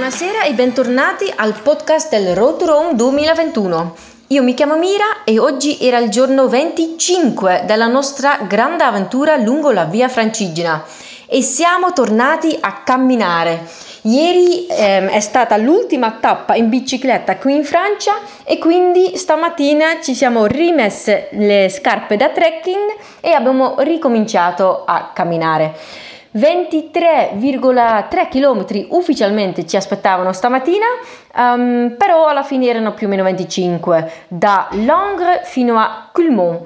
Buonasera e bentornati al podcast del Road to Rome 2021. Io mi chiamo Mira e oggi era il giorno 25 della nostra grande avventura lungo la Via Francigena e siamo tornati a camminare. Ieri è stata l'ultima tappa in bicicletta qui in Francia e quindi stamattina ci siamo rimesse le scarpe da trekking e abbiamo ricominciato a camminare. 23,3 km ufficialmente ci aspettavano stamattina, però alla fine erano più o meno 25 da Langres fino a Coulmont.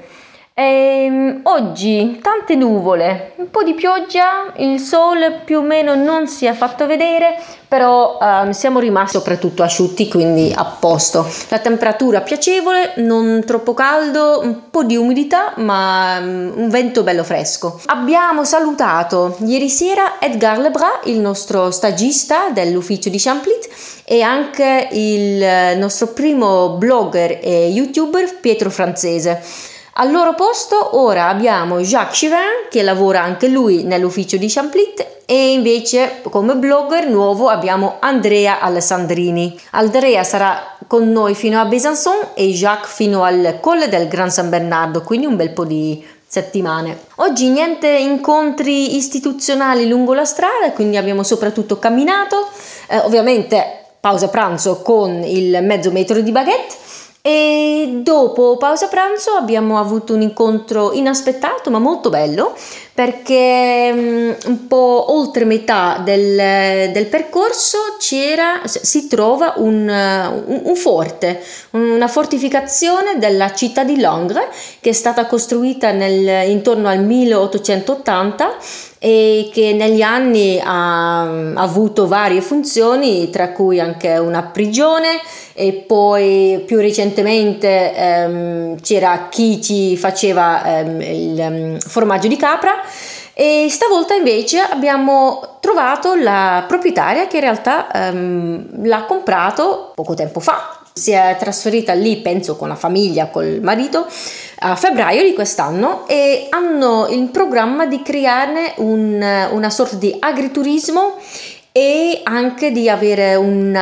Oggi tante nuvole, un po' di pioggia, il sole più o meno non si è fatto vedere, però siamo rimasti soprattutto asciutti, quindi a posto. La temperatura piacevole, non troppo caldo, un po' di umidità, ma un vento bello fresco. Abbiamo salutato ieri sera Edgar Lebras, il nostro stagista dell'ufficio di Champlit, e anche il nostro primo blogger e youtuber Pietro Francese. Al loro posto ora abbiamo Jacques Chivin, che lavora anche lui nell'ufficio di Champlit, e invece come blogger nuovo abbiamo Andrea Alessandrini. Andrea sarà con noi fino a Besançon e Jacques fino al Colle del Gran San Bernardo, quindi un bel po' di settimane. Oggi niente incontri istituzionali lungo la strada, quindi abbiamo soprattutto camminato, ovviamente pausa pranzo con il mezzo metro di baguette. E dopo pausa pranzo abbiamo avuto un incontro inaspettato ma molto bello, perché un po' oltre metà del percorso si trova un forte, una fortificazione della città di Langres che è stata costruita intorno al 1880 e che negli anni ha avuto varie funzioni, tra cui anche una prigione, e poi più recentemente c'era chi ci faceva il formaggio di capra, e stavolta invece abbiamo trovato la proprietaria che in realtà l'ha comprato poco tempo fa. Si è trasferita lì, penso con la famiglia, col marito, a febbraio di quest'anno, e hanno in programma di crearne una sorta di agriturismo e anche di avere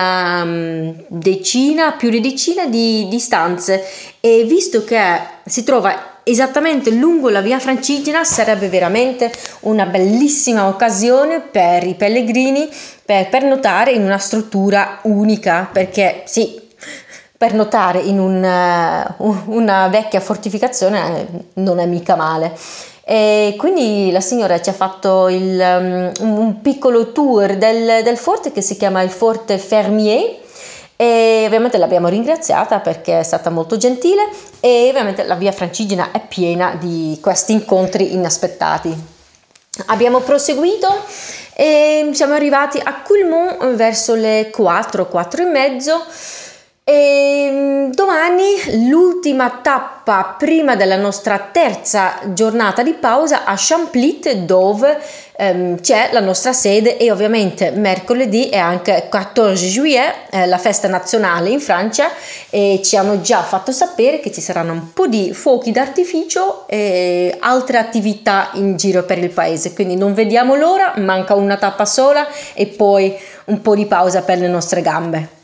più di decina di stanze, e visto che si trova esattamente lungo la Via Francigena sarebbe veramente una bellissima occasione per i pellegrini per pernotare in una struttura unica, perché sì, pernotare in una vecchia fortificazione non è mica male. E quindi la signora ci ha fatto un piccolo tour del forte che si chiama il Forte Fermier, e ovviamente l'abbiamo ringraziata perché è stata molto gentile, e ovviamente la Via Francigena è piena di questi incontri inaspettati. Abbiamo proseguito e siamo arrivati a Coulmont verso le 4 e mezzo. E domani l'ultima tappa prima della nostra terza giornata di pausa a Champlit, dove c'è la nostra sede, e ovviamente mercoledì è anche 14 juillet, la festa nazionale in Francia, e ci hanno già fatto sapere che ci saranno un po' di fuochi d'artificio e altre attività in giro per il paese, quindi non vediamo l'ora, manca una tappa sola e poi un po' di pausa per le nostre gambe.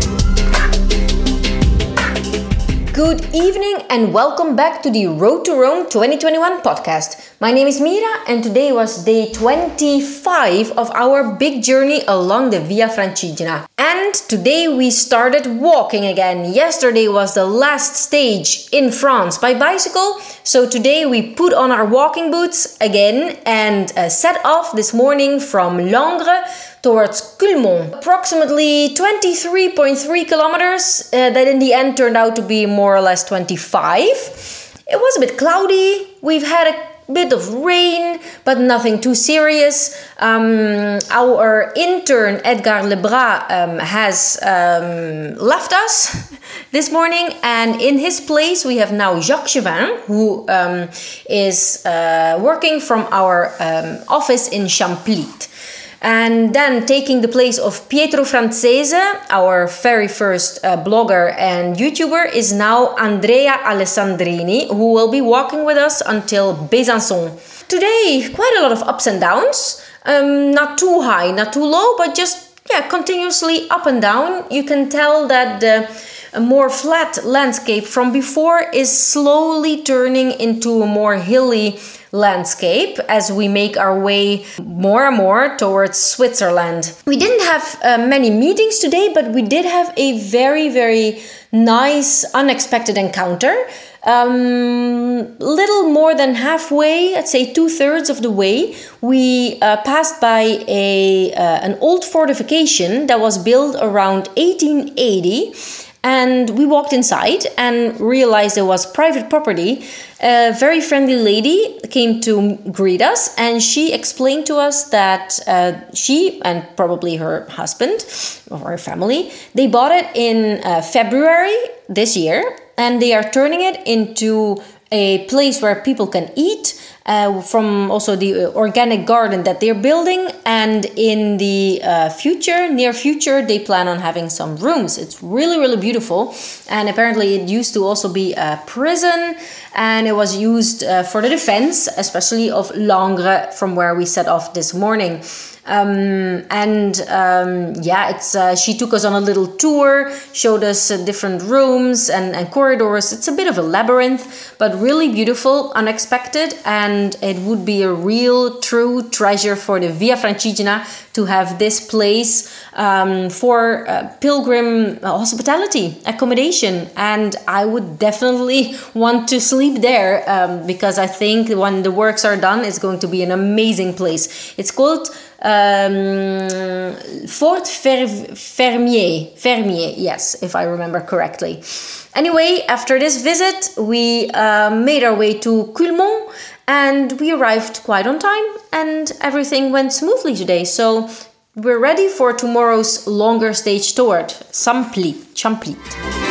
Good evening and welcome back to the Road to Rome 2021 podcast. My name is Mira and today was day 25 of our big journey along the Via Francigena. And today we started walking again. Yesterday was the last stage in France by bicycle, so today we put on our walking boots again and set off this morning from Langres towards Coulmont. Approximately 23.3 kilometers that in the end turned out to be more or less 25. It was a bit cloudy. We've had a bit of rain, but nothing too serious. Our intern Edgar Lebras has left us this morning, and in his place we have now Jacques Chivin, who is working from our office in Champlit. And then taking the place of Pietro Francese, our very first blogger and YouTuber, is now Andrea Alessandrini, who will be walking with us until Besançon. Today, quite a lot of ups and downs, not too high, not too low, but just continuously up and down. You can tell that a more flat landscape from before is slowly turning into a more hilly landscape as we make our way more and more towards Switzerland. We didn't have many meetings today, but we did have a very, very nice, unexpected encounter. Little more than halfway, I'd say 2/3 of the way, we passed by an old fortification that was built around 1880. And we walked inside and realized it was private property. A very friendly lady came to greet us, and she explained to us that she and probably her husband or her family, they bought it in February this year, and they are turning it into a place where people can eat from also the organic garden that they're building. And in the near future, they plan on having some rooms. It's really, really beautiful. And apparently it used to also be a prison, and it was used for the defense, especially of Langres, from where we set off this morning. She took us on a little tour, showed us different rooms and corridors. It's a bit of a labyrinth, but really beautiful, unexpected, and it would be a real, true treasure for the Via Francigena to have this place for pilgrim hospitality, accommodation. And I would definitely want to sleep there because I think when the works are done, it's going to be an amazing place. It's called Fort Fermier, yes, if I remember correctly. Anyway, after this visit, we made our way to Culemont, and we arrived quite on time, and everything went smoothly today. So we're ready for tomorrow's longer stage tour, Champlit.